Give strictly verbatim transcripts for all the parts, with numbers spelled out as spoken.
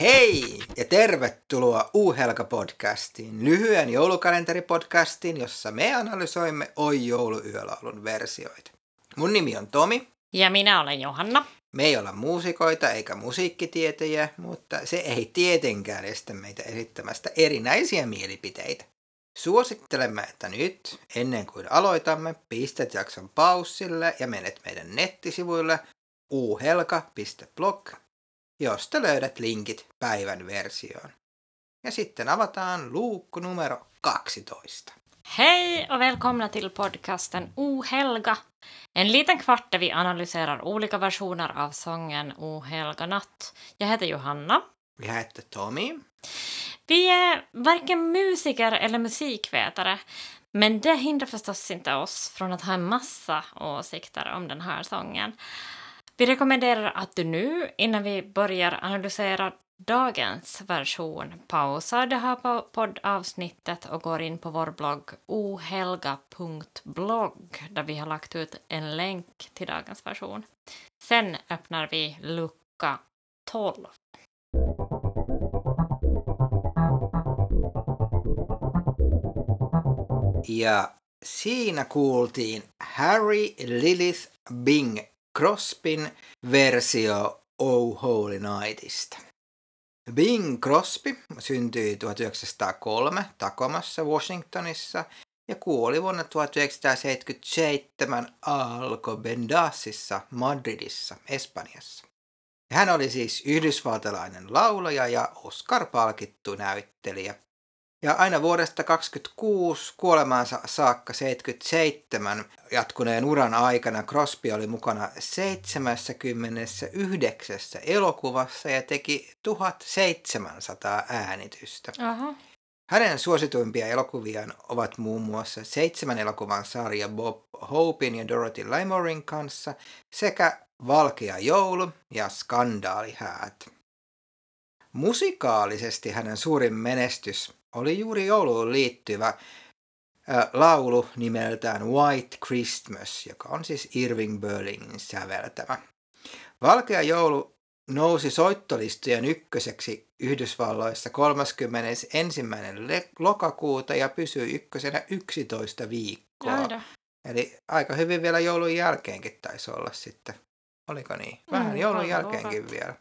Hei ja tervetuloa U-Helga-podcastiin, lyhyen joulukalenteripodcastiin, jossa me analysoimme Oi jouluyölaulun versioita. Mun nimi on Tomi. Ja minä olen Johanna. Me ei olla muusikoita eikä musiikkitietäjiä, mutta se ei tietenkään estä meitä esittämästä erinäisiä mielipiteitä. Suosittelemme, että nyt, ennen kuin aloitamme, pistät jakson paussille ja menet meidän nettisivuille u helga piste blog, josta löydät linkit päivän versioon. Ja sitten avataan luukku numero kaksitoista. Hej och välkomna till podcasten O Helga. En liten kvart där vi analyserar olika versioner av sången O Helga natt. Jag heter Johanna. Vi heter Tommy. Vi är varken musiker eller musikvetare, men det hindrar förstås inte oss från att ha en massa åsikter om den här sången. Vi rekommenderar att du nu, innan vi börjar analysera dagens version, pausar det här poddavsnittet och går in på vår blogg o helga punkt blogg där vi har lagt ut en länk till dagens version. Sen öppnar vi lucka tolv. Ja siinä kuultiin Harry Lilith Bing Crosbyn versio Oh Holy Nightista. Bing Crosby syntyi tuhatyhdeksänsataakolme Tacomassa, Washingtonissa ja kuoli vuonna tuhatyhdeksänsataaseitsemänkymmentäseitsemän Alcobendasissa, Madridissa, Espanjassa. Ja hän oli siis yhdysvaltalainen laulaja ja Oscar-palkittu näyttelijä. Ja aina vuodesta kaksikymmentäkuusi kuolemaansa saakka seitsemänkymmentäseitsemän jatkuneen uran aikana Crosby oli mukana seitsemänkymmentäyhdeksän elokuvassa ja teki tuhatseitsemänsataa äänitystä. Aha. Hänen suosituimpia elokuviaan ovat muun muassa seitsemän elokuvan sarja Bob Hopein ja Dorothy Lamorin kanssa sekä Valkea joulu ja Skandaalihäät. Musikaalisesti hänen suurin menestys oli juuri jouluun liittyvä ä, laulu nimeltään White Christmas, joka on siis Irving Berlinin säveltämä. Valkea joulu nousi soittolistojen ykköseksi Yhdysvalloissa kolmaskymmenesensimmäinen lokakuuta ja pysyi ykkösenä yksitoista viikkoa. Aida. Eli aika hyvin vielä joulun jälkeenkin taisi olla sitten. Oliko niin? Vähän Mm, joulun aivan jälkeenkin luulen. vielä.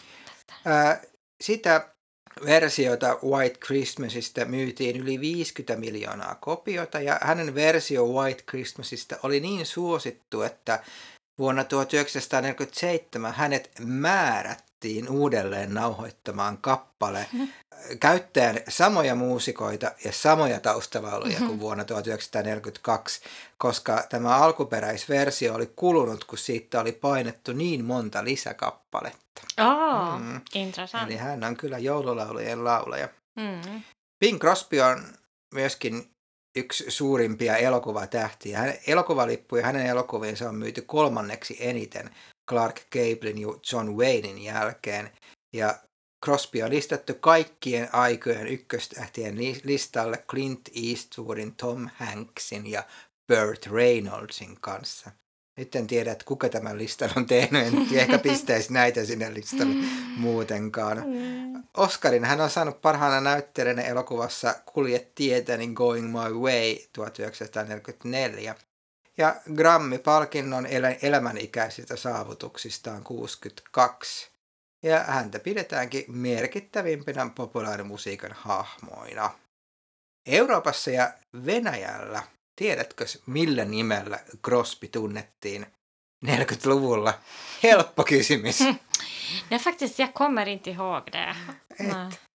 Ää, sitä versiota White Christmasista myytiin yli viisikymmentä miljoonaa kopiota ja hänen versio White Christmasista oli niin suosittu, että vuonna tuhatyhdeksänsataaneljäkymmentäseitsemän hänet määrättiin uudelleen nauhoittamaan kappale käyttäen samoja muusikoita ja samoja taustalauluja kuin vuonna tuhatyhdeksänsataaneljäkymmentäkaksi, koska tämä alkuperäisversio oli kulunut, kun siitä oli painettu niin monta lisäkappaletta. Oh, Mm. intressant. Eli hän on kyllä joululaulujen laulaja. Mm. Bing Crosby on myöskin yksi suurimpia elokuvatähtiä. Hänen elokuvalippuja hänen elokuviinsa on myyty kolmanneksi eniten Clark Gablen ja John Waynein jälkeen. Ja Crosby on listattu kaikkien aikojen ykköstähtien listalle Clint Eastwoodin, Tom Hanksin ja Burt Reynoldsin kanssa. Nyt en tiedä, että kuka tämän listan on tehnyt, en ehkä pistäisi näitä sinne listalle muutenkaan. Mm. Oscarin hän on saanut parhaana näyttelijänä elokuvassa Kulje tietäni Going My Way tuhatyhdeksänsataaneljäkymmentäneljä. Ja Grammy-palkinnon elä- elämänikäisistä saavutuksistaan kuusikymmentäkaksi. Ja häntä pidetäänkin merkittävimpinä populaarimusiikan hahmoina. Euroopassa ja Venäjällä, tiedätkö millä nimellä Crosby tunnettiin neljäkymmentäluvulla? Helppo kysymys. Nej, faktiskt, jag kommer inte ihåg det. Nej.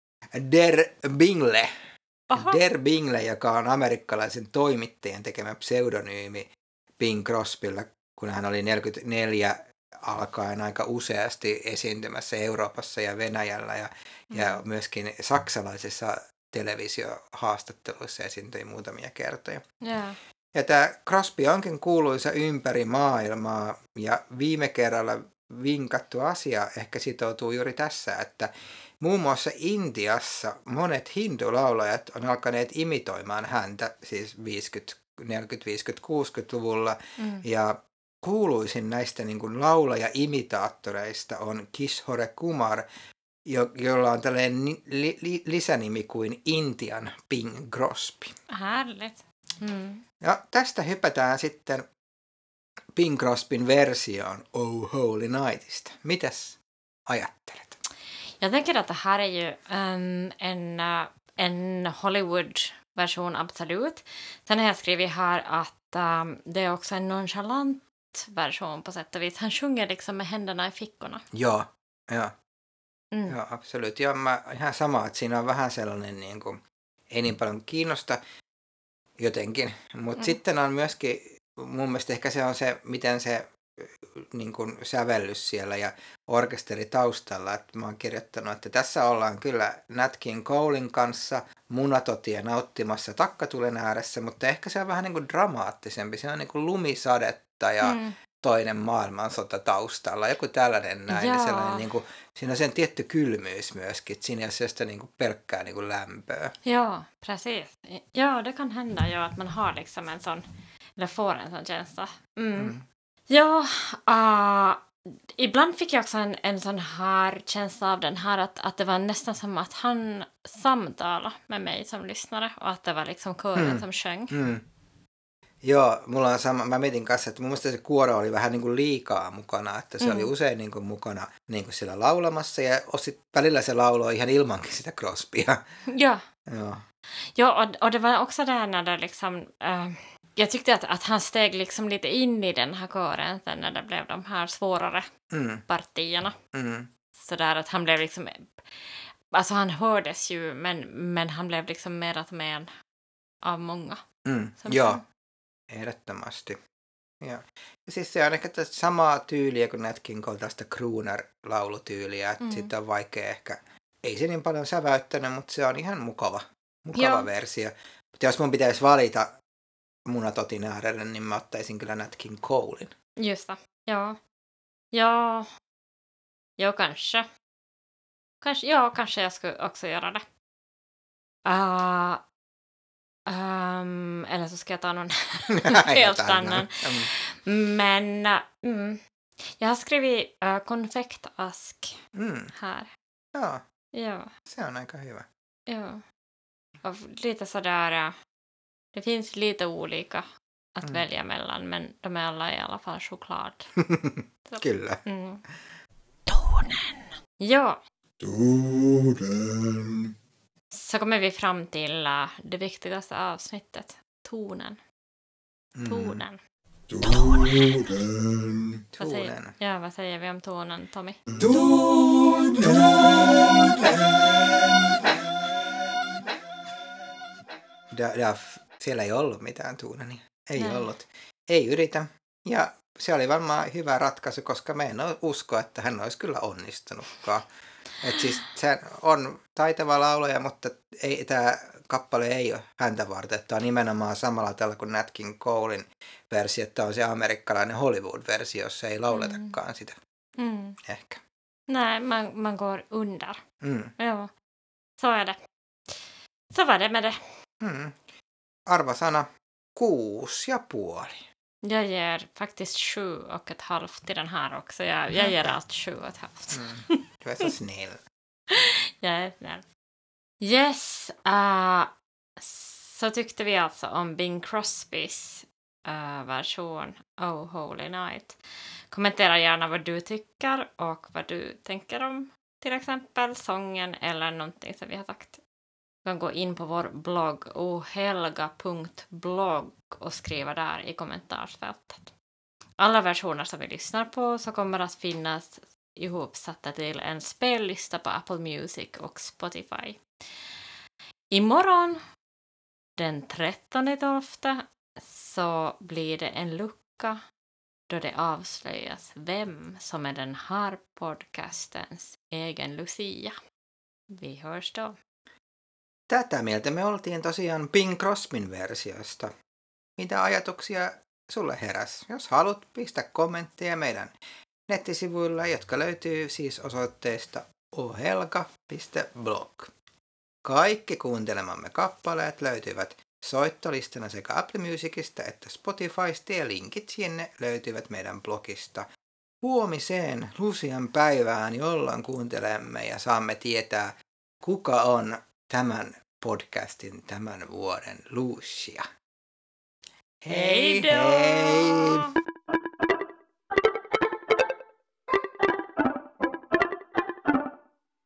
Der Bingle. Aha. Der Bingle, joka on amerikkalaisen toimittajan tekemä pseudonyymi Bing Crosbylla, kun hän oli neljäkymmentäneljä alkaen aika useasti esiintymässä Euroopassa ja Venäjällä ja, mm. ja myöskin saksalaisissa televisiohaastatteluissa esiintyi muutamia kertoja. Yeah. Ja tämä Crosby onkin kuuluisa ympäri maailmaa ja viime kerralla vinkattu asia ehkä sitoutuu juuri tässä, että muun muassa Intiassa monet hindulaulajat on alkaneet imitoimaan häntä siis viisikymmentä, neljäkymmentä, viisikymmentä, kuusikymmentäluvulla mm. ja kuuluisin näistä niin kuin laulaja-imitaattoreista on Kishore Kumar, jo, jolla on tällainen li, li, lisänimi kuin Intian Bing Crosby. Härligt. Mm. Ja tästä hypätään sitten Bing Crosbyn versioon Oh Holy Nightista. Mitäs ajattelet? Jag tänker att det här är ju um, en, uh, en Hollywood-version, absolut. Sen har jag skrivit här att um, det är också en nonchalant version på sätt och vis. Han sjunger liksom med händerna i fickorna. Joo, joo. Mm. Joo, absoluut. Joo, mä ihan sama, että siinä on vähän sellainen, niin kuin, ei niin paljon kiinnosta jotenkin. Mutta Mm. sitten on myöskin, mun mielestä ehkä se on se, miten se niin kuin sävellys siellä ja orkesteri taustalla. Että mä oon kirjoittanut, että tässä ollaan kyllä Nat King Colen kanssa munatotia nauttimassa takkatulen ääressä, mutta ehkä se on vähän niin kuin dramaattisempi. Se on niin kuin lumisadetta ja Mm. toinen maailmansota taustalla. Joku tällainen näin. Ja sellainen, niin kuin, siinä on sen tietty kylmyys myöskin. Että siinä ei ole sellaista niin kuin pelkkää niin kuin lämpöä. Ja, precis. Ja, det kan hända ju att man har liksom en sån, eller får en sån känsla. Mm. Mm. Ja, uh, ibland fick jag också en, en sån här känsla av den här att, att det var nästan som att han samtalade med mig som lyssnare och att det var liksom kören Mm. som sjöng. Mm. Joo, mulla on sama, mä mietin kanssa, että mun mielestä se kuoro oli vähän niin kuin liikaa mukana, että se Mm. oli usein niin kuin mukana niin kuin siellä laulamassa ja osit, välillä se lauloi ihan ilmankin sitä Crosbya. Ja, Joo. ja och, och det var också där när det liksom... Uh, jag tyckte att, att han steg liksom lite in i den här kören sen när det blev de här svårare Mm. partierna. Mm. Så där att han blev liksom... Alltså han hördes ju, men, men han blev liksom mer att med av många. Mm. Som Joo, sjöng. ehdottomasti. Joo. Ja siis se on ehkä tästä samaa tyyliä kuin Nat King Cole, tästä crooner-laulutyyliä, että Mm. sitten on vaikea ehkä, ei se niin paljon säväyttänyt, mutta se on ihan mukava, mukava Joo. versio. Mutta jos mun pitäisi valita munatotin äärelle, niin mä ottaisin kyllä Nat King Colen. Just det. Ja. Ja. Ja, kanske. Kanske, ja, kanske jag skulle också göra det. Uh, um, eller så ska jag ta någon helt annan. Mm. Men uh, mm, jag har skrivit uh, konfektask Mm. här. Joo, Ja, se on aika hyvä. ja. Och lite sådär... Uh, det finns lite olika att Mm. välja mellan, men de är alla i alla fall choklad. Så. Kyllä. Mm. Tonen! Ja, Tonen. så kommer vi fram till uh, det viktigaste avsnittet. Tonen. Mm. Tonen. Tonen. Vad säger, Tonen. ja, vad säger vi om tonen, Tommy? Tonen. Da, da, siellä ei ollut mitään tuunania. Ei Näin. ollut. Ei yritä. Ja se oli varmaan hyvä ratkaisu, koska me en usko, että hän olisi kyllä onnistunutkaan. Et siis se on taitava laulaja, mutta ei, tämä kappale ei ole häntä varten. Tämä on nimenomaan samalla tällä kuin Nat King Colen versio, että on se amerikkalainen Hollywood-versio, jossa ei lauletakaan mm. sitä. Mm. Ehkä. Nej, man, man går under. Mm. Ja, så är det. Så var det med det. Mm. Arvosana kuusi ja puoli. Jag ger faktiskt sju och ett halvt till den här också. Jag, jag ger allt sju och ett halvt. Mm. Du är så snäll. Jag är snäll. Yes, uh, så tyckte vi alltså om Bing Crosbys uh, version Oh Holy Night. Kommentera gärna vad du tycker och vad du tänker om till exempel sången eller någonting som vi har sagt. Du kan gå in på vår blogg ohelga punkt blogg och skriva där i kommentarsfältet. Alla versioner som vi lyssnar på så kommer att finnas ihopsatta till en spellista på Apple Music och Spotify. Imorgon, den trettonde tolfte, så blir det en lucka då det avslöjas vem som är den här podcastens egen Lucia. Vi hörs då. Tätä mieltä me oltiin tosiaan Bing Crosbyn versiosta. Mitä ajatuksia sulle heräs? Jos haluat, pistä kommentteja meidän nettisivuilla, jotka löytyy siis osoitteesta ohelga piste blog. Kaikki kuuntelemamme kappaleet löytyvät soittolistana sekä Apple Musicista että Spotifysta ja linkit sinne löytyvät meidän blogista huomiseen Lucian päivään, jolloin kuuntelemme ja saamme tietää, kuka on tämän podcastin tämän vuoden Lucia. Hei då!